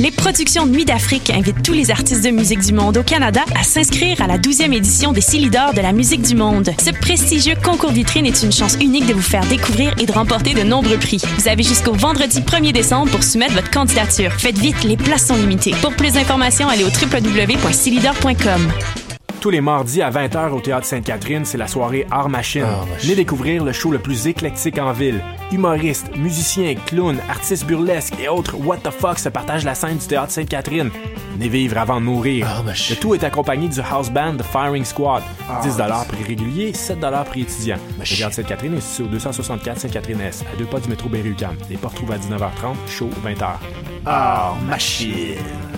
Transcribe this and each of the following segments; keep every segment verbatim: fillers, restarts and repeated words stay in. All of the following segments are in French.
Les productions Nuit d'Afrique invitent tous les artistes de musique du monde au Canada à s'inscrire à la douzième édition des Silidor de la musique du monde. Ce prestigieux concours vitrine est une chance unique de vous faire découvrir et de remporter de nombreux prix. Vous avez jusqu'au vendredi premier décembre pour soumettre votre candidature. Faites vite, les places sont limitées. Pour plus d'informations, allez au w w w point silidor point com. Tous les mardis à vingt heures au Théâtre Sainte-Catherine, c'est la soirée Art Machine. Art Machine. Venez découvrir le show le plus éclectique en ville. Humoristes, musiciens, clowns, artistes burlesques et autres what the fuck se partagent la scène du Théâtre Sainte-Catherine. Venez vivre avant de mourir. Art Machine. Le tout est accompagné du house band The Firing Squad. dix dollars prix régulier, sept dollars prix étudiant. Le Théâtre Sainte-Catherine est situé au deux cent soixante-quatre Sainte-Catherine-Est, à deux pas du métro Berry-UQAM. Les portes ouvrent à dix-neuf heures trente, show vingt heures. Art Machine.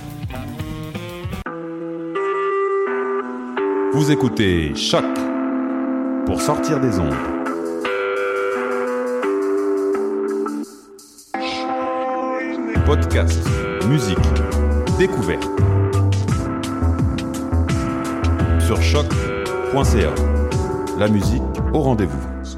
Vous écoutez Choc pour sortir des ondes. Podcast, musique, découverte. Sur choc point c a. La musique au rendez-vous.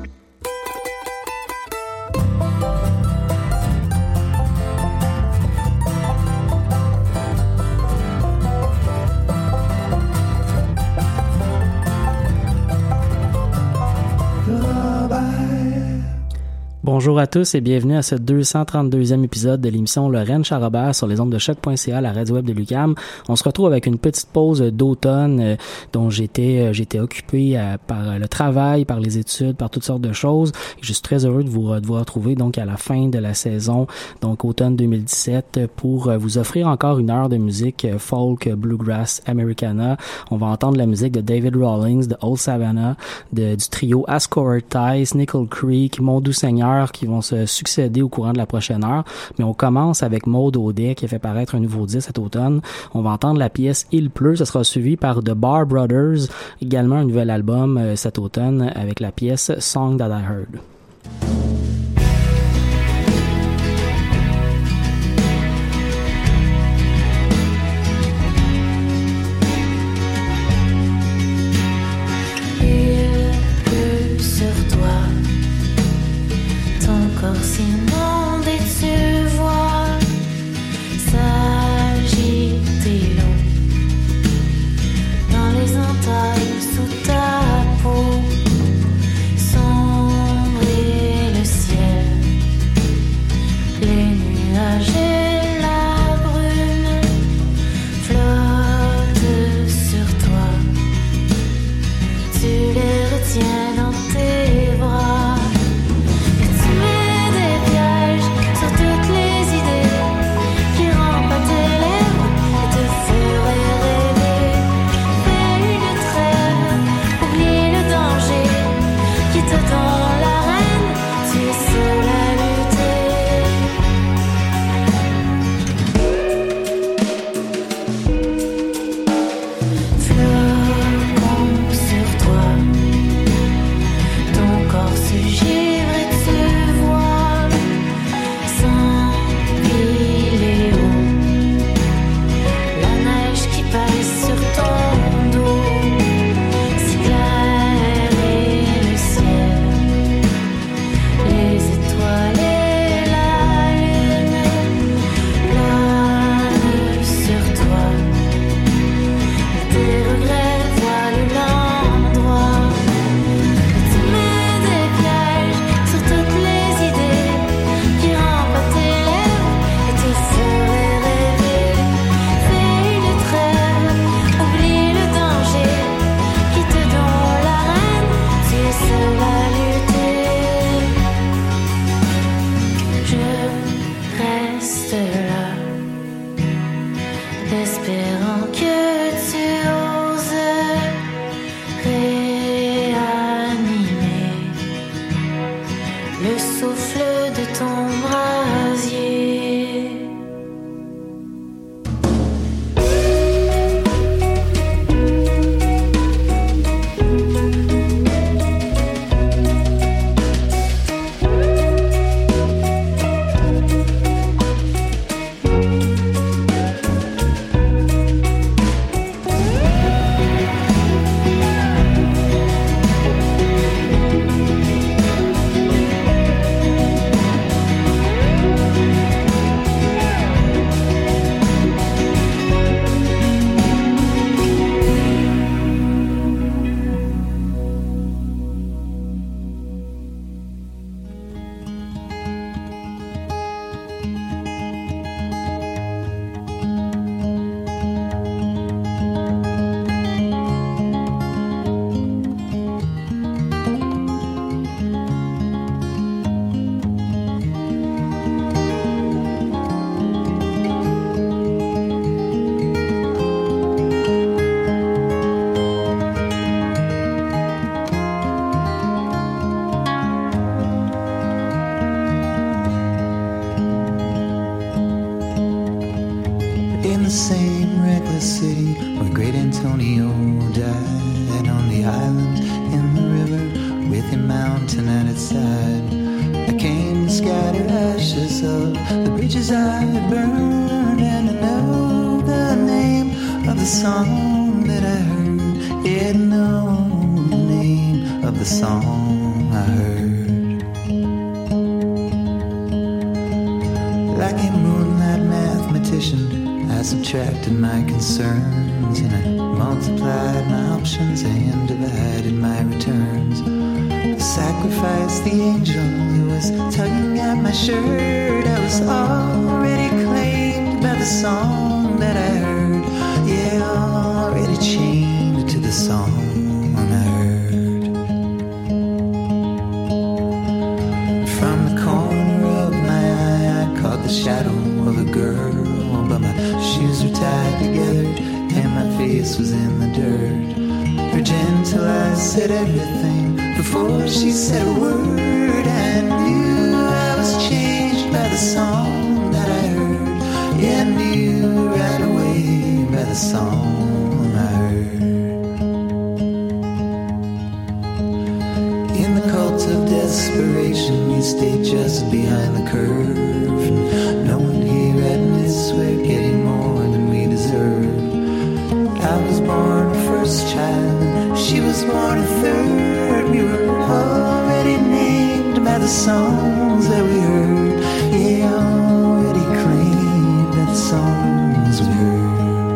Bonjour à tous et bienvenue à ce deux cent trente-deuxième épisode de l'émission Lorraine Charrobert sur les ondes de choc point c a, la radio web de l'UQAM. On se retrouve avec une petite pause d'automne euh, dont j'étais euh, j'étais occupé euh, par le travail, par les études, par toutes sortes de choses. Je suis très heureux de vous, de vous retrouver donc à la fin de la saison, donc automne deux mille dix-sept, pour euh, vous offrir encore une heure de musique euh, folk, bluegrass, americana. On va entendre la musique de David Rawlings, de Old Savannah, de, du trio Ascot Ties, Nickel Creek, Mon Doux Seigneur, qui vont se succéder au courant de la prochaine heure. Mais on commence avec Maude Audet qui a fait paraître un nouveau disque cet automne. On va entendre la pièce Il pleut. Ça sera suivi par The Bar Brothers, également un nouvel album euh, cet automne avec la pièce Song That I Heard. Si monde et tu vois s'agiter l'eau dans les entailles sous ta peau, sombrer le its side. I came to scatter ashes of the bridges I had burned, and I know the name of the song that I heard. Yeah, I know the name of the song I heard. Like a moonlight mathematician, I subtracted my concerns, and I multiplied my options and divided my returns. I sacrificed the angel who was tugging at my shirt. I was already claimed by the song that I heard. Yeah, already chained to the song I heard. From the corner of my eye, I caught the shadow of a girl, but my shoes were tied together and my face was in the dirt. Her gentle eyes said everything before she said a word. I knew I was changed by the song that I heard. Yeah, I knew right away by the song I heard. In the cult of desperation, we stay just behind the curve, and no one here admits we're getting more than we deserve. I was born a first child, she was born a third. We were already named by the songs that we heard. Yeah, already claimed by the songs we heard.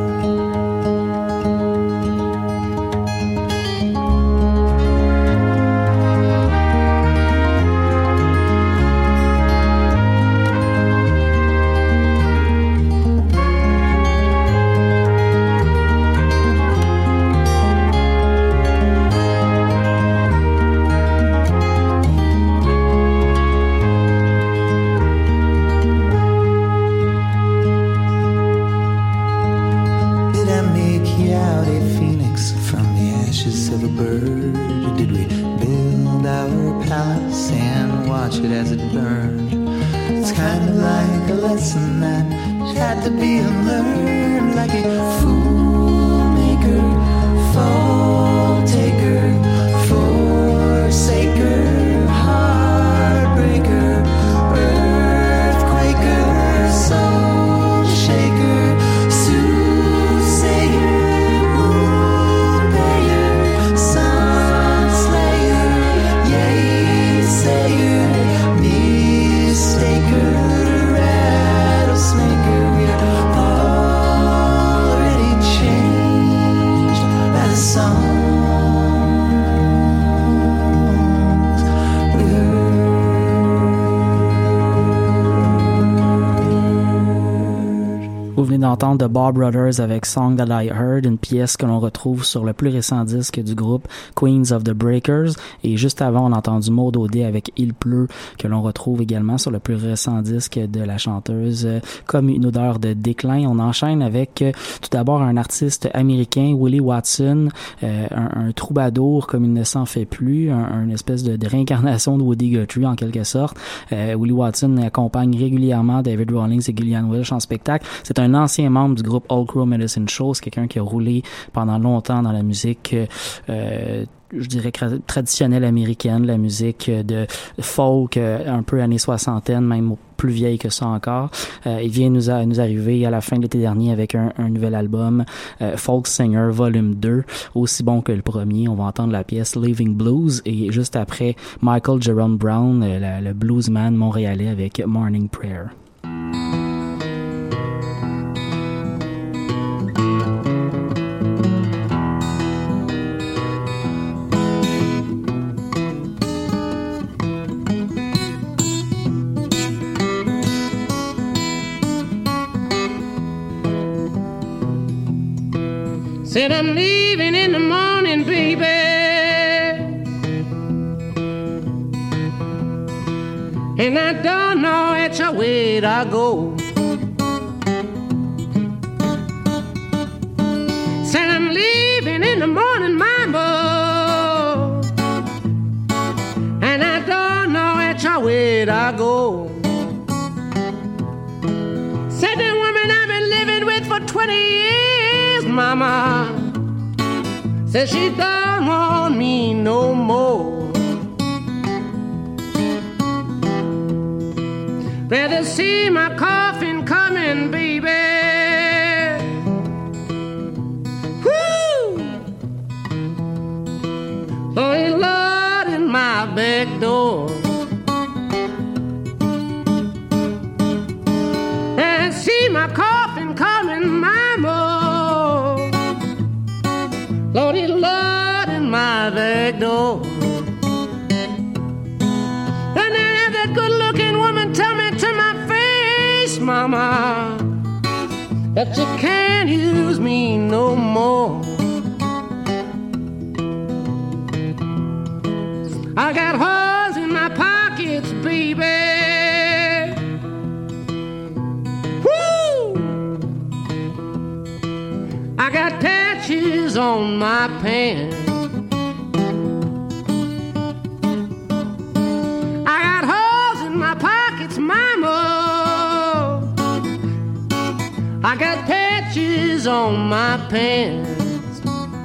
De Bob Brothers avec Song That I Heard, une pièce que l'on retrouve sur le plus récent disque du groupe Queens of the Breakers, et juste avant on a entendu Maud Audet avec Il pleut, que l'on retrouve également sur le plus récent disque de la chanteuse, euh, Comme une odeur de déclin. On enchaîne avec euh, tout d'abord un artiste américain, Willie Watson, euh, un, un troubadour comme il ne s'en fait plus, un, une espèce de, de réincarnation de Woody Guthrie en quelque sorte. euh, Willie Watson accompagne régulièrement David Rawlings et Gillian Welch en spectacle. C'est un ancien membre du groupe Old Crow Medicine Show, c'est quelqu'un qui a roulé pendant longtemps dans la musique euh, je dirais traditionnelle américaine, la musique de folk un peu années soixantaine, même plus vieille que ça encore. Euh, il vient nous, a, nous arriver à la fin de l'été dernier avec un, un nouvel album, euh, Folk Singer Volume deux, aussi bon que le premier. On va entendre la pièce Living Blues, et juste après Michael Jerome Brown, euh, la, le bluesman montréalais, avec Morning Prayer. Said I'm leaving in the morning, baby, and I don't know which way to go. Said I'm leaving in the morning, mama, and I don't know which way to go. Said the woman I've been living with for twenty years, mama, says she don't want me no more. I see my coffin coming, baby. Woo! Lordy, Lord, in my back door. I see my coffin coming, mama. Lordy, Lord, in my back door. And then have that good-looking woman tell me to my face, mama, that you can't use me no more. I got holes in my pockets, baby. Woo! I got patches on my pants. I got holes in my pockets, mama. I got patches on my pants.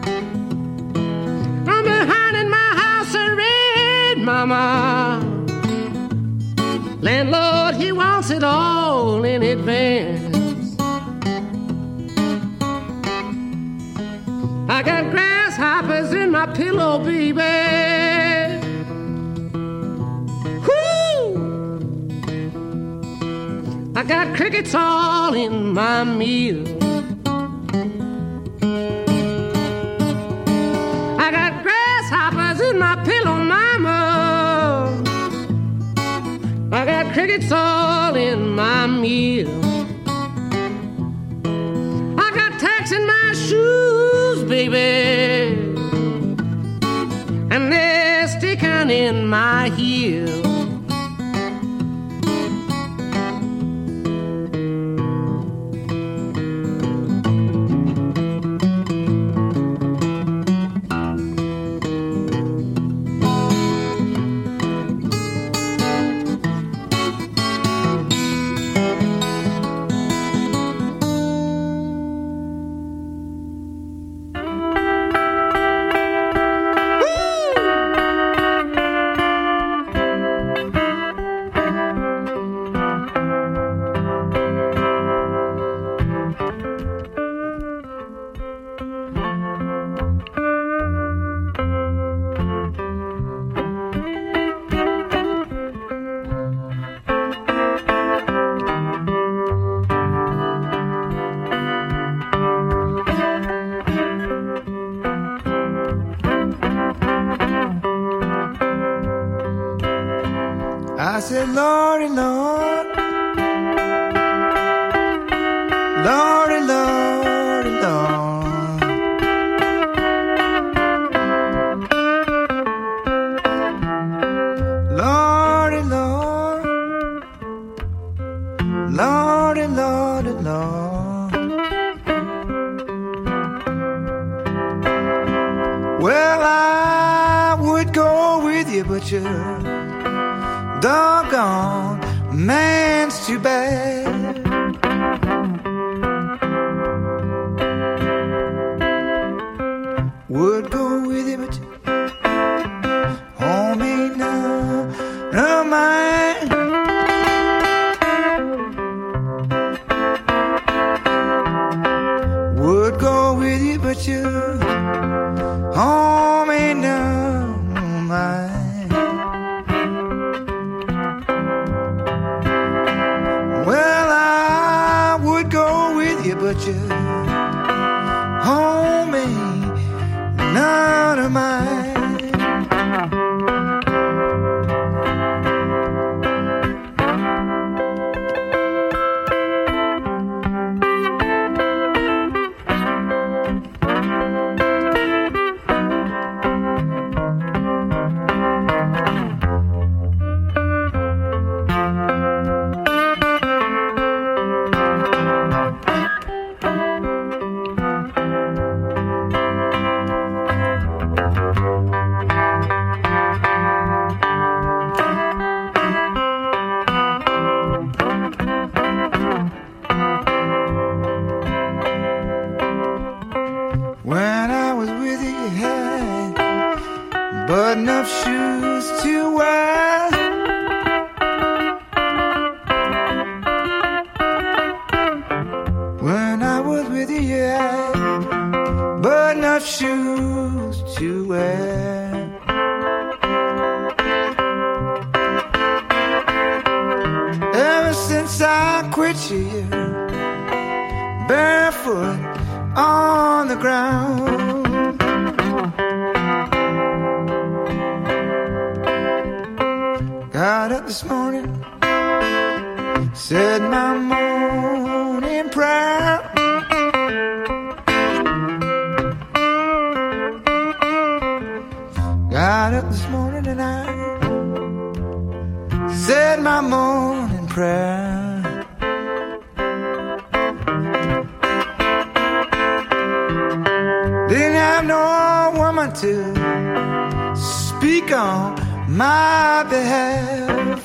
I'm behind in my house of red, mama. Landlord, he wants it all in advance. I got grasshoppers in my pillow, baby. Whoo! I got crickets all in my meal. I got grasshoppers in my pillow, mama. I got crickets all in my meal. I got tacks in my shoes, baby, and they're sticking in my heel. I said, Lordy, Lord, Lordy, Lordy, Lord. Lordy, Lord, Lordy, Lordy, Lord. Well, I would go with you, but you're doggone, man's too bad. Would go with you, but you home ain't none of mine. Would go with you, but you home ain't none of mine. But you home ain't none of mine. but enough shoes to wear. everywhere. Ever since I quit you, barefoot on the ground, got up this morning, said my morning prayer. Got up this morning and I said my morning prayer. Didn't have no woman to speak on my behalf.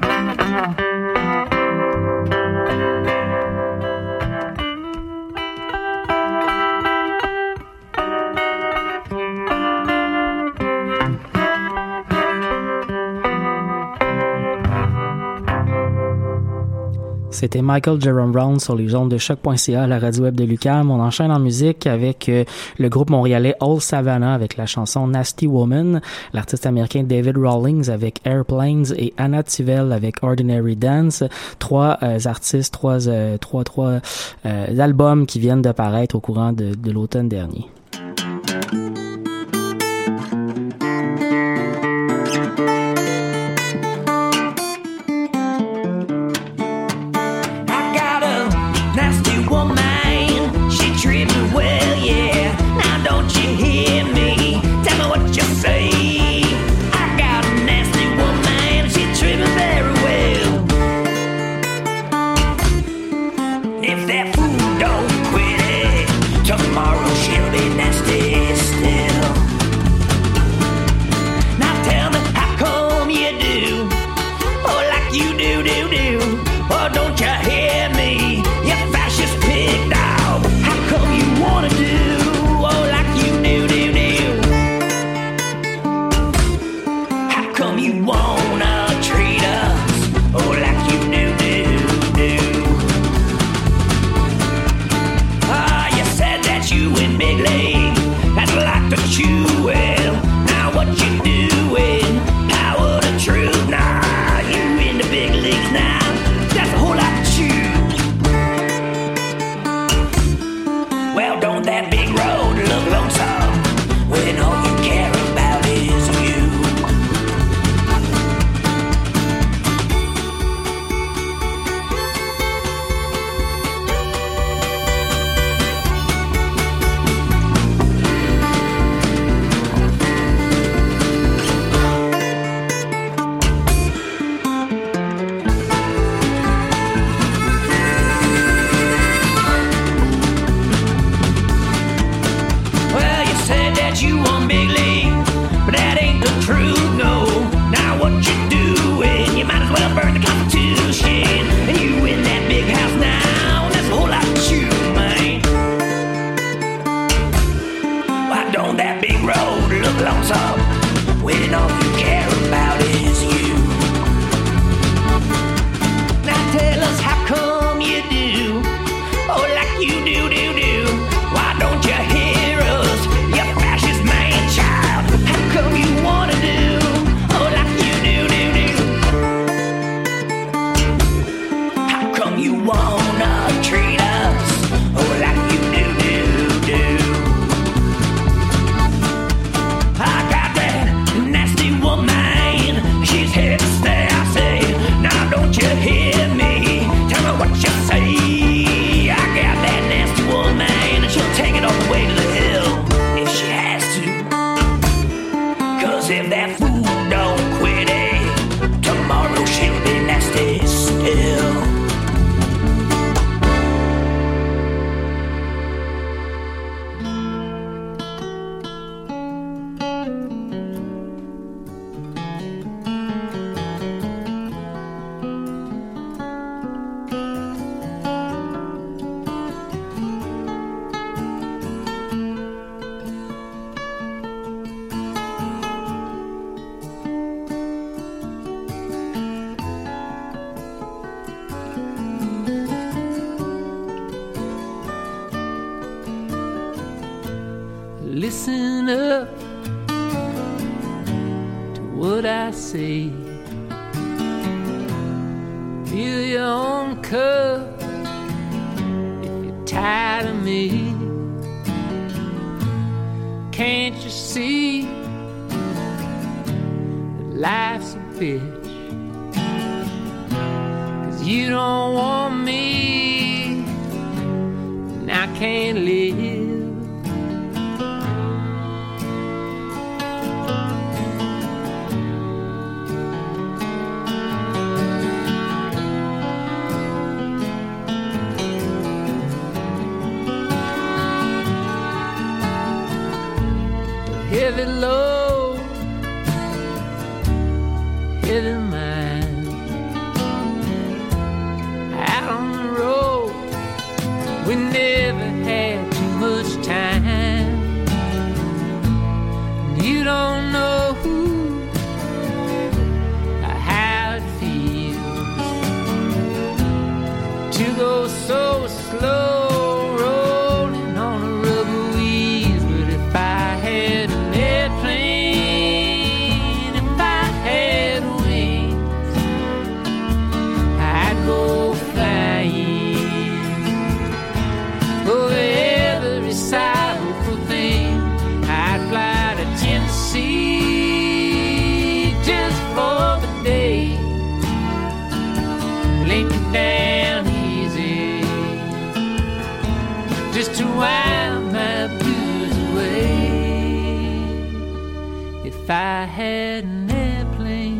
C'était Michael Jerome Brown sur les ondes de choc point c a, la radio web de l'U Q A M. On enchaîne en musique avec euh, le groupe montréalais Old Savannah avec la chanson Nasty Woman, l'artiste américain David Rawlings avec Airplanes et Anna Tivell avec Ordinary Dance. Trois euh, artistes, trois, euh, trois, trois euh, albums qui viennent de paraître au courant de, de l'automne dernier. would I say? Fill your own cup if you're tired of me. Can't you see that life's a bitch? 'Cause you don't want me and I can't live. Heavy load, heavy mind. Out on the road, we never had too much time. You don't know who or how it feels to go so slow, rolling on the rubber wheels. But if I had a down easy, just to wind my blues away. If I had an airplane,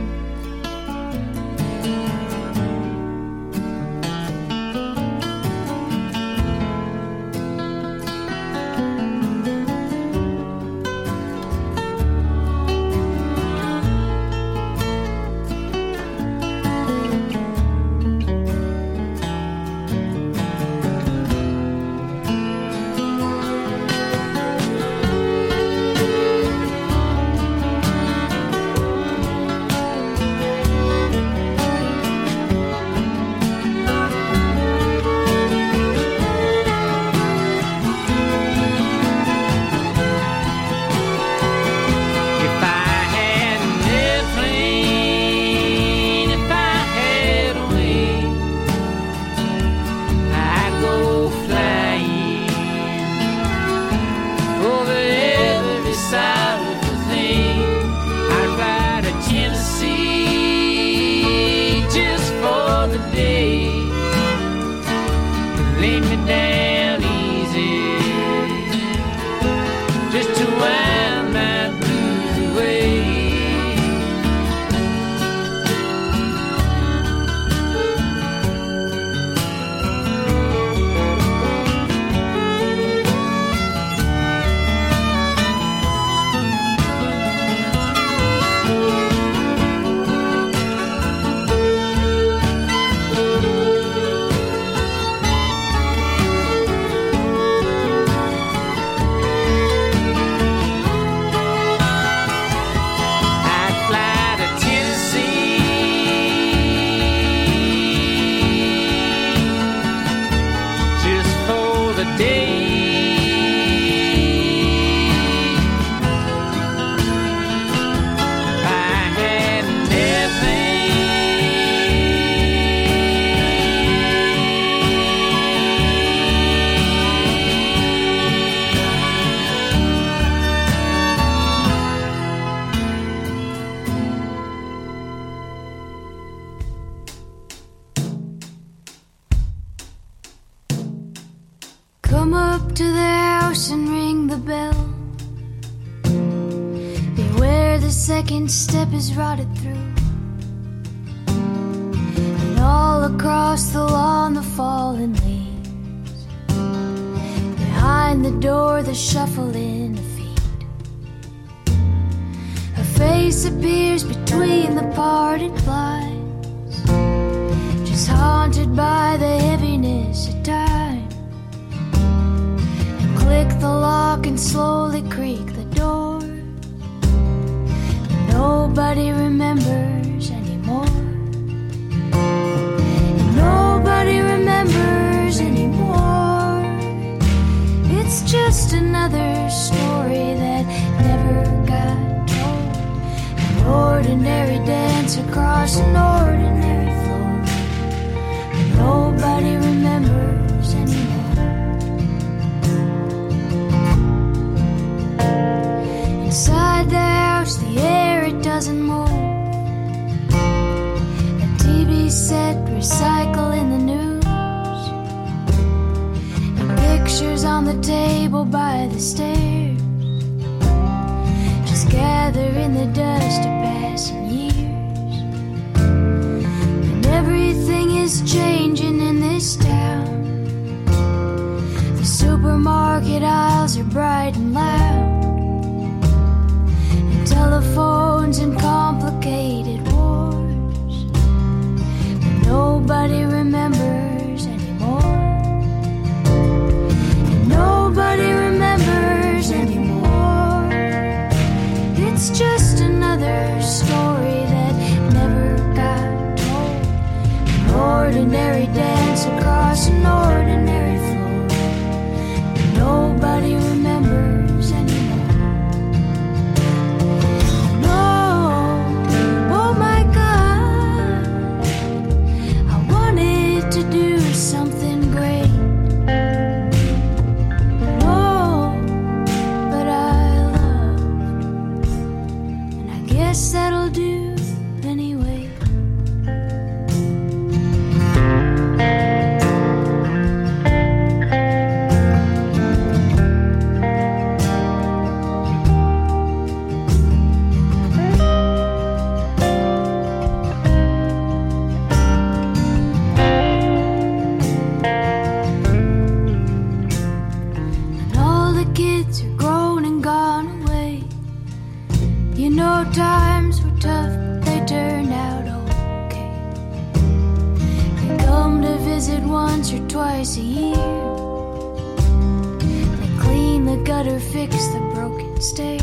come up to the house and ring the bell. Beware, the second step is rotted through. And all across the lawn the fallen leaves. Behind the door the shuffling of feet. Her face appears between the parted blinds, just haunted by the heaviness of time. Click the lock and slowly creak the door. Nobody remembers anymore. Nobody remembers anymore. It's just another story that never got told. ordinary dance across an ordinary floor. Nobody remembers anymore. Inside the house, the air, it doesn't move. A T V set, recycling the news. And pictures on the table by the stairs. Just gather in the dust of passing years. And everything is changing in this town. The supermarket aisles are bright and loud. Telephones and complicated wars. But nobody remembers anymore. And nobody remembers anymore. It's just another story that never got told. An ordinary dance across an ordinary floor. But nobody remembers anymore. That'll do anyway. And all the kids are grown and gone away. You know, times were tough, but they turned out okay. They come to visit once or twice a year. They clean the gutter, fix the broken stair.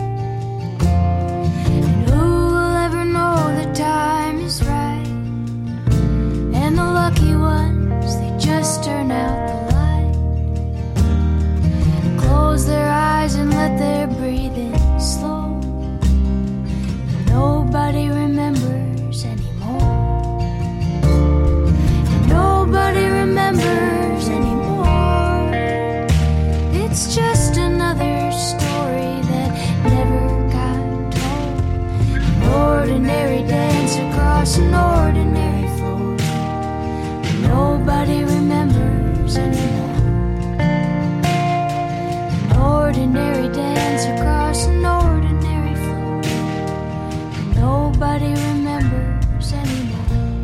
And who will ever know the time is right? And the lucky ones, they just turn out the light. Close their eyes and let their breathing slow. Nobody remembers anymore. And nobody remembers anymore. It's just another story that never got told. An ordinary dance across an ordinary floor. And nobody remembers anymore. An ordinary dance across an ordinary floor. Nobody remembers anymore.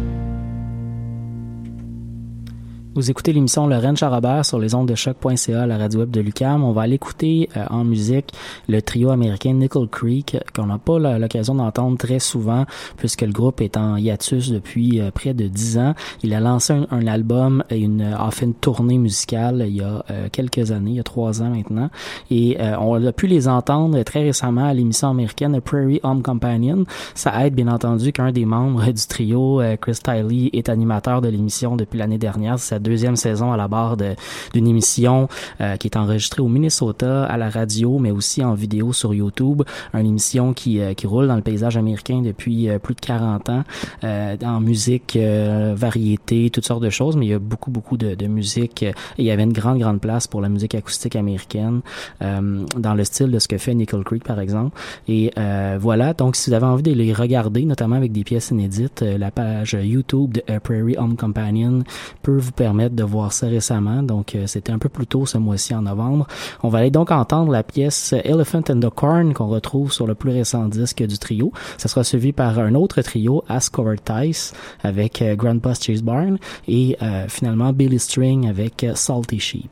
Vous écoutez l'émission Lorraine Charrobert sur les ondes de choc point c a, la radio web de l'U Q A M. On va aller écouter euh, en musique le trio américain Nickel Creek, qu'on n'a pas la, l'occasion d'entendre très souvent puisque le groupe est en hiatus depuis euh, près de dix ans. Il a lancé un, un album et une, a fait une tournée musicale il y a euh, quelques années, il y a trois ans maintenant. Et euh, on a pu les entendre très récemment à l'émission américaine Prairie Home Companion. Ça aide bien entendu qu'un des membres du trio, euh, Chris Tiley, est animateur de l'émission depuis l'année dernière. C'est sa deuxième saison à la barre de, d'une émission euh, qui est enregistrée au Minnesota à la radio, mais aussi en vidéo sur YouTube. Une émission qui, euh, qui roule dans le paysage américain depuis euh, plus de quarante ans, euh, en musique, euh, variété, toutes sortes de choses, mais il y a beaucoup, beaucoup de, de musique. Et il y avait une grande, grande place pour la musique acoustique américaine, euh, dans le style de ce que fait Nickel Creek, par exemple. Et euh, voilà, donc si vous avez envie de les regarder, notamment avec des pièces inédites, euh, la page YouTube de uh, Prairie Home Companion peut vous permettre de voir ça récemment. Donc, euh, c'était un peu plus tôt ce mois-ci, en novembre. On va aller donc entendre la pièce Elephant and the Corn qu'on retrouve sur le plus récent disque du trio. Ça sera suivi par un autre trio, Ask Covered Tice, avec euh, Grandpa's Cheese Barn et euh, finalement Billy String avec euh, Salty Sheep.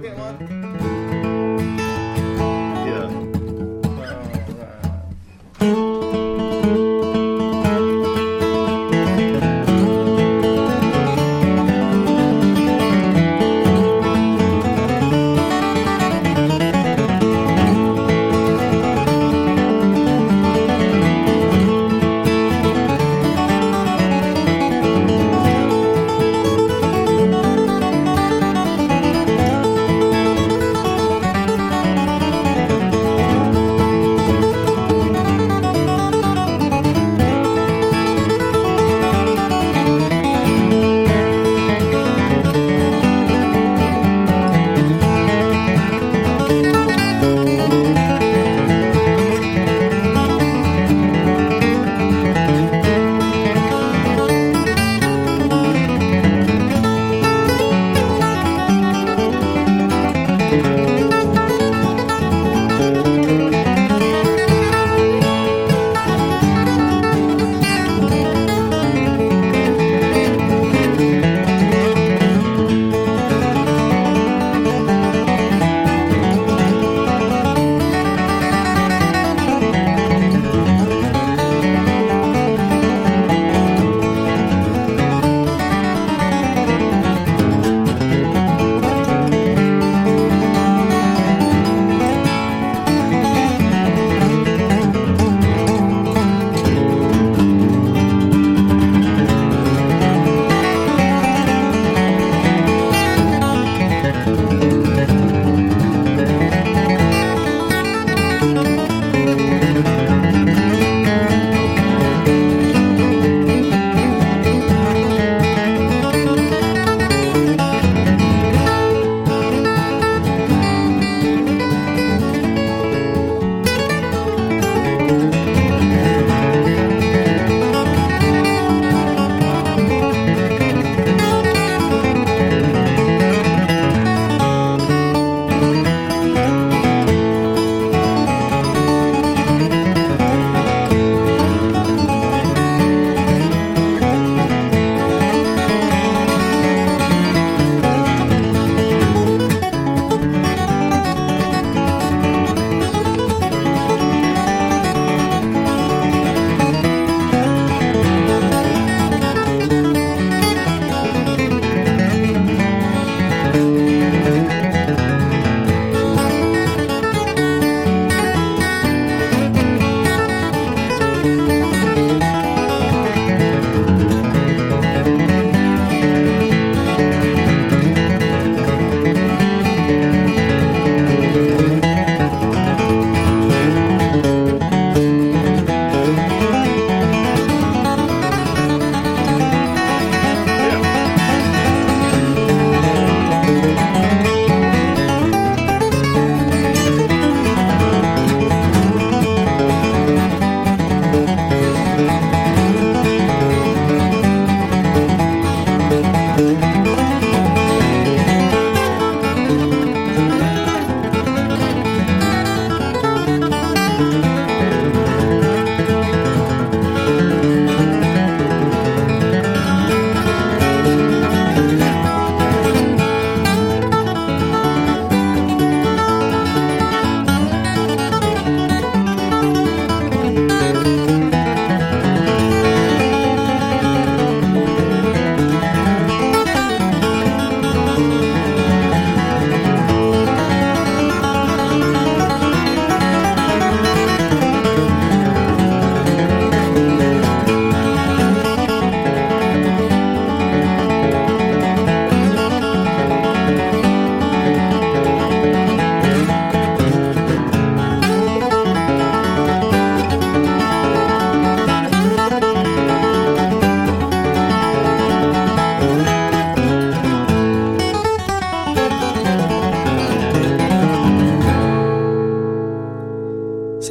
get one?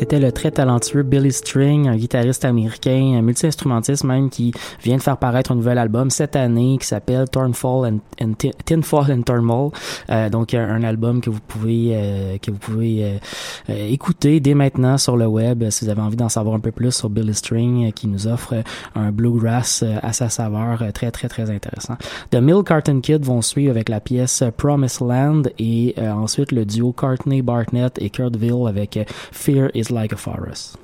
c'était le très talentueux Billy String, un guitariste américain, un multi-instrumentiste même, qui vient de faire paraître un nouvel album cette année qui s'appelle Turnfall and, and Tin, Tinfall and Turnmall. Euh, donc un, un album que vous pouvez euh, que vous pouvez euh, euh, écouter dès maintenant sur le web si vous avez envie d'en savoir un peu plus sur Billy String, euh, qui nous offre un bluegrass euh, à sa saveur euh, très très très intéressant. The Milk Carton Kid vont suivre avec la pièce Promised Land et euh, ensuite le duo Courtney Barnett et Kurt Ville avec euh, Fear is Like a Forest.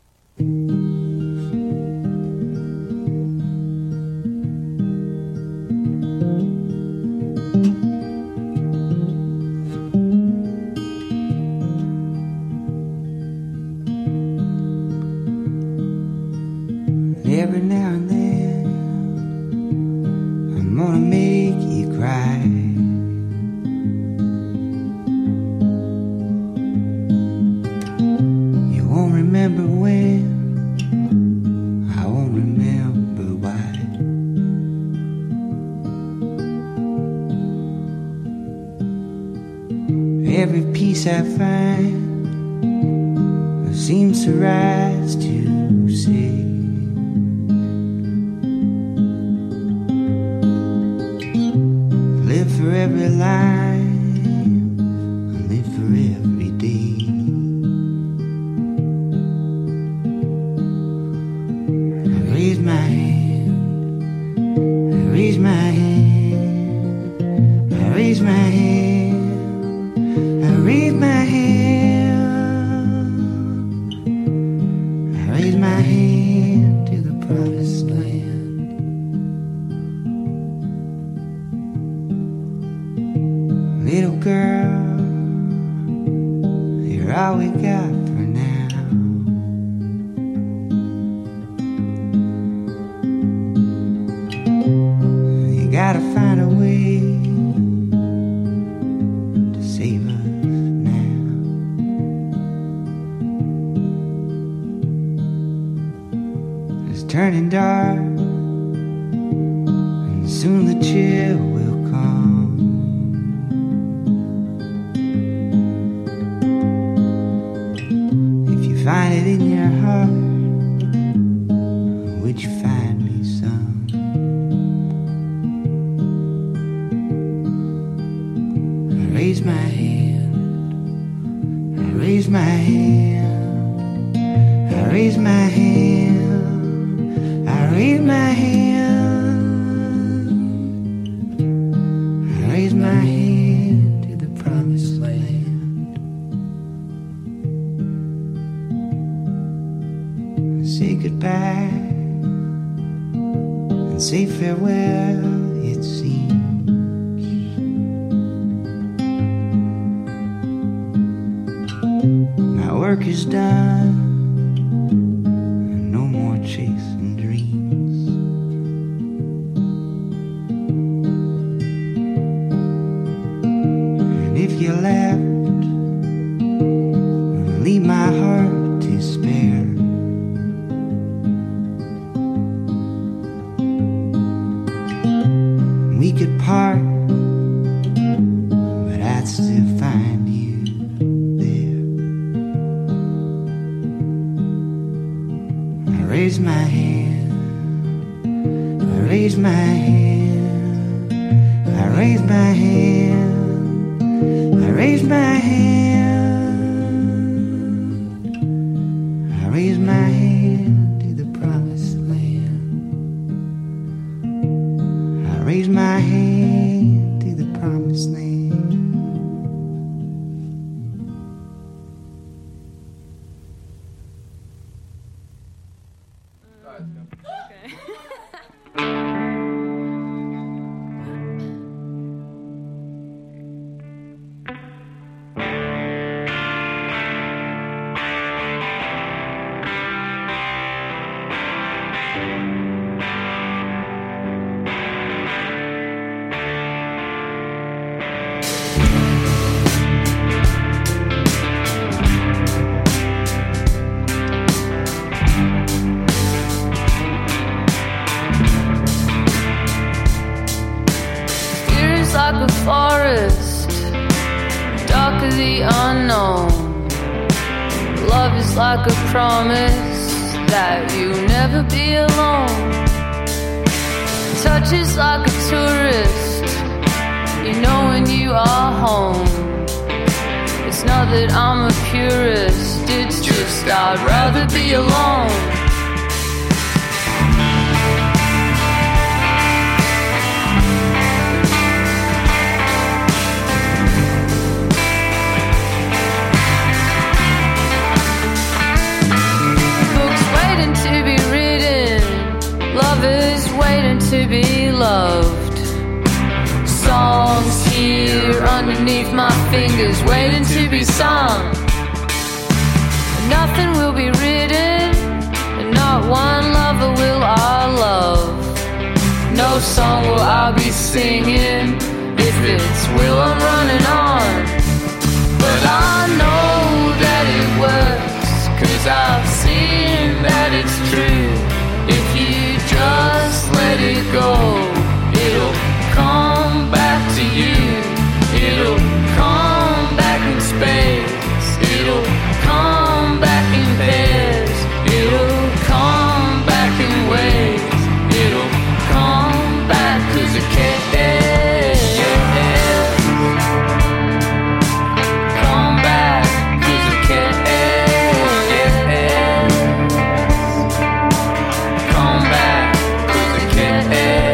Every now and then I'm gonna make you cry. You won't remember when, I won't remember why. Every piece I find seems to rise to say, live for every line, live for every day. I raise my hand, I raise my hand, I raise my hand, I raise my hand, I raise my hand to the promised land. Little girl, you're all we got for now. You gotta find a way to save us now. It's turning dark, and soon the chill will come. Find it in your heart, would you find me some? I raise my hand, I raise my hand, I raise my hand, I raise my hand, I raise my hand to the promised land. Say goodbye and say farewell, it seems. My work is done, and no more chasing dreams. And if you left, leave my heart to spare. We could part, but I'd still find you there. I raise my hand, I raise my hand, I raise my hand, I raise my hand, I raise my hand to the promised land. I raise my hand to the promised land. Like a forest, dark of the unknown, love is like a promise that you'll never be alone. Touch is like a tourist, you know when you are home. It's not that I'm a purist, it's just I'd rather be alone. Books waiting to be written, lovers waiting to be loved. Songs here underneath my fingers waiting to be sung. Nothing will be written, and not one lover will I love. No song will I be singing, if it's will I'm running on. But I know that it works, cause I've seen that it's true. If you just let it go, it'll come back to you. It'll come back in space. It'll come back in pairs. It'll come back in waves. It'll come back cause it cares. Come back cause it cares. Come back cause it cares.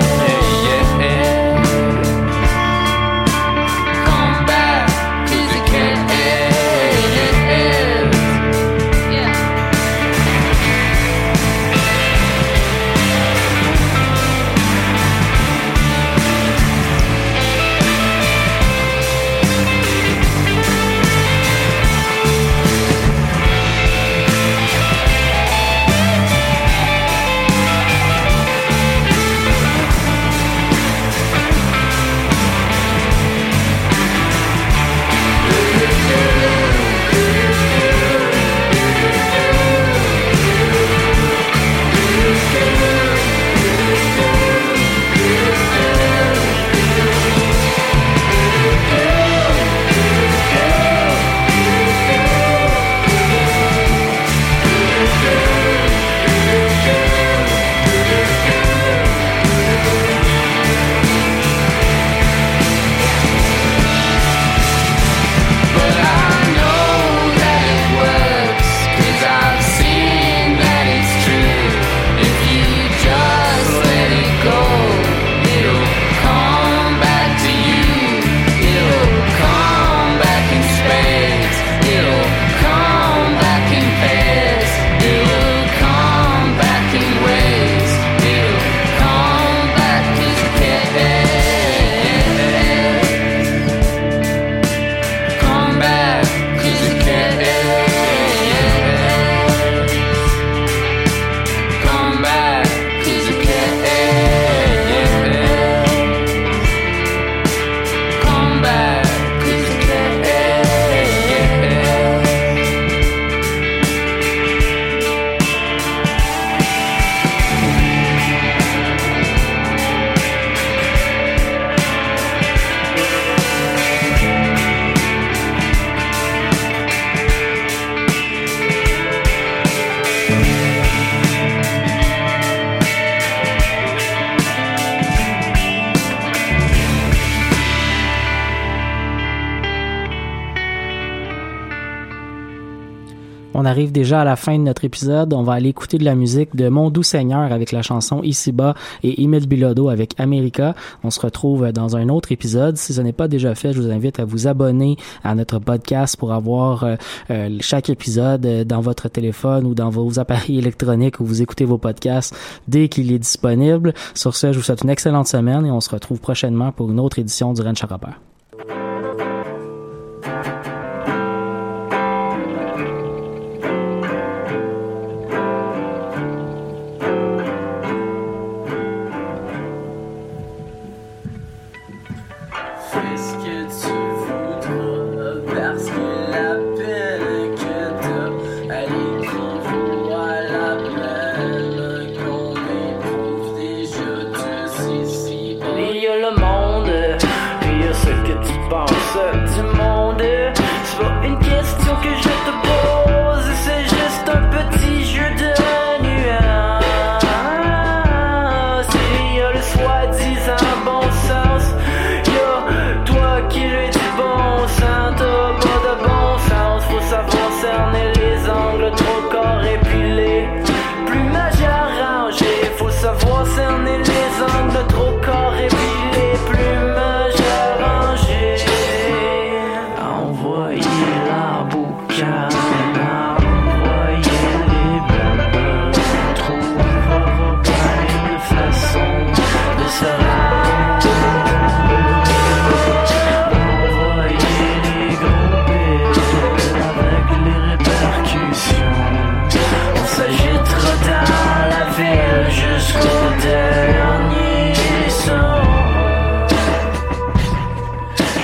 On arrive déjà à la fin de notre épisode. On va aller écouter de la musique de Mon Doux Seigneur avec la chanson Ici-bas et Émile Bilodeau avec America. On se retrouve dans un autre épisode. Si ce n'est pas déjà fait, je vous invite à vous abonner à notre podcast pour avoir euh, euh, chaque épisode dans votre téléphone ou dans vos appareils électroniques où vous écoutez vos podcasts dès qu'il est disponible. Sur ce, je vous souhaite une excellente semaine et on se retrouve prochainement pour une autre édition du Ranch à Robert. Du monde, c'est pas une question que je te pose, c'est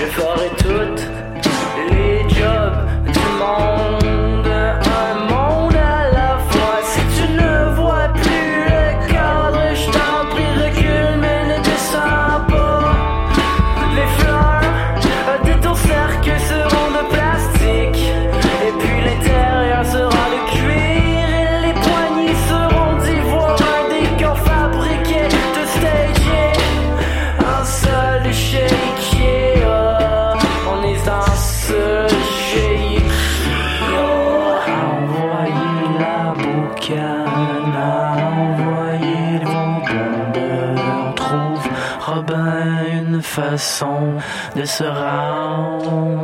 ferai toutes les jobs du monde, un monde à la fois. Si tu ne vois plus le cadre, je t'en prie recule, mais ne descends pas. Les fleurs de ton cercle seront de plastique, et puis l'intérieur sera de cuir, et les poignées seront d'ivoire, des corps fabriqués de stager. Un seul shake, yeah. On est un seul shake, yeah. Envoyez la boucane, envoyez le bonbon. On trouvera bien une façon de se rendre.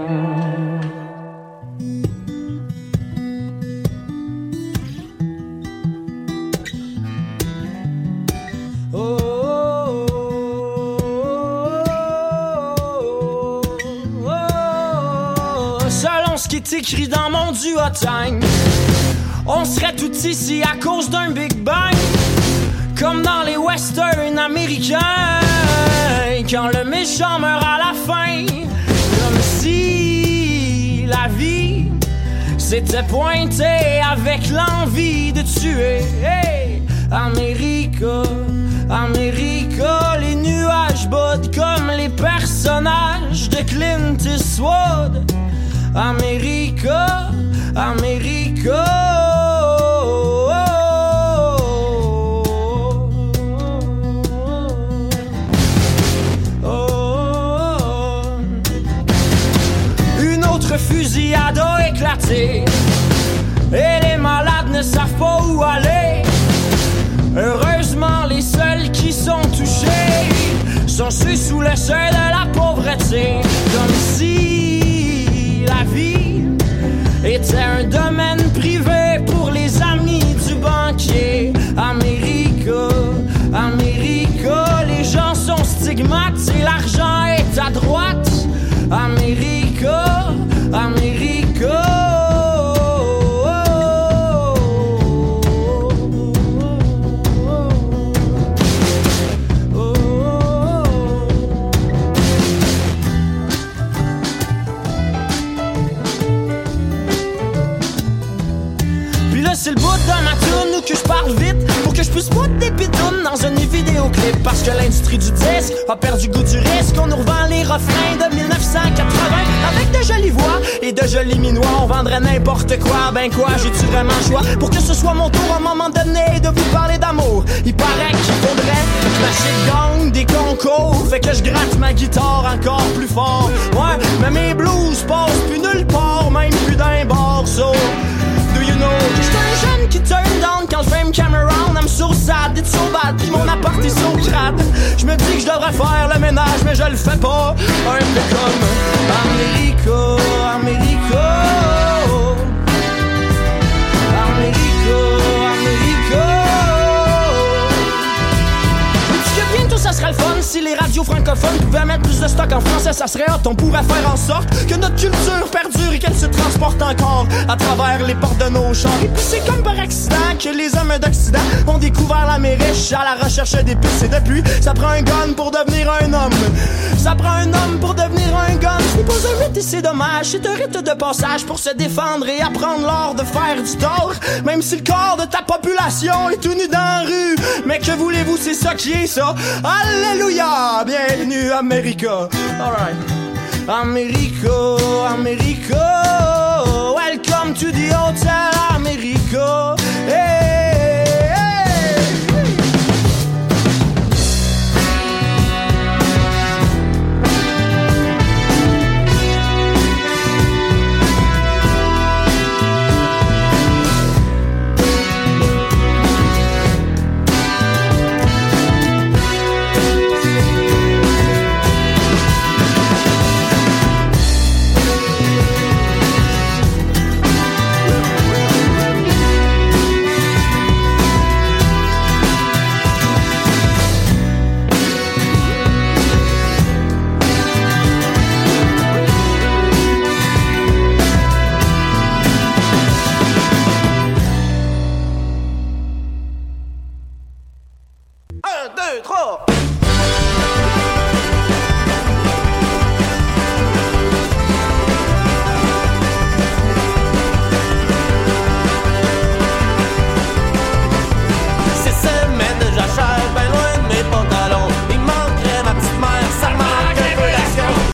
Selon ce qui est écrit dans mon duotime, on serait tout ici à cause d'un Big Bang, comme dans les westerns américains, quand le méchant meurt à la fin, comme si la vie s'était pointée avec l'envie de tuer. Hey, America, America, les nuages bottent comme les personnages de Clint Eastwood. America, America. Une autre fusillade a éclaté et les malades ne savent pas où aller. Heureusement, les seuls qui sont touchés sont ceux sous le seuil de la pauvreté. Comme si la vie était un domaine privé pour les amis du banquier. America, America, les gens sont stigmates et l'argent est à droite. America, America. C'est le bout de ma toune où que je parle vite pour que je puisse foutre des pitounes dans un vidéoclip. Parce que l'industrie du disque a perdu goût du risque. On nous revend les refrains de dix-neuf cent quatre-vingts avec de jolies voix et de jolis minois. On vendrait n'importe quoi, ben quoi, j'ai-tu vraiment le choix pour que ce soit mon tour à un moment donné de vous parler d'amour? Il paraît qu'il faudrait que ma shit gagne des concours, fait que je gratte ma guitare encore plus fort. Ouais, mais mes blues passent plus nulle part, même plus d'un bar, so do you know que j'suis un jeune qui turn down quand le fame came around. I'm so sad, it's so bad, pis mon appart est so crade. J'me dis que j'devrais faire le ménage, mais je le fais pas. Un peu comme America, America, America, America. Dis que bientôt ça serait le fun si les radios francophones pouvaient mettre plus de stock en français, ça serait hot. On pourrait faire en sorte que notre culture perdure et qu'elle se transporte encore à travers les portes de nos chars. Et puis c'est comme par accident que les hommes d'Occident ont découvert l'Amérique à la recherche d'épices. Et depuis, ça prend un gun pour devenir un homme. Ça prend un homme pour devenir un gun. Ce n'est pas un rite et c'est dommage. C'est un rite de passage pour se défendre et apprendre l'art de faire du tort. Même si le corps de ta population est tout nu dans la rue. Mais que voulez-vous, c'est ça qui est ça. Alléluia, bienvenue America. Alright. America, America. Welcome to the hotel America. Hey.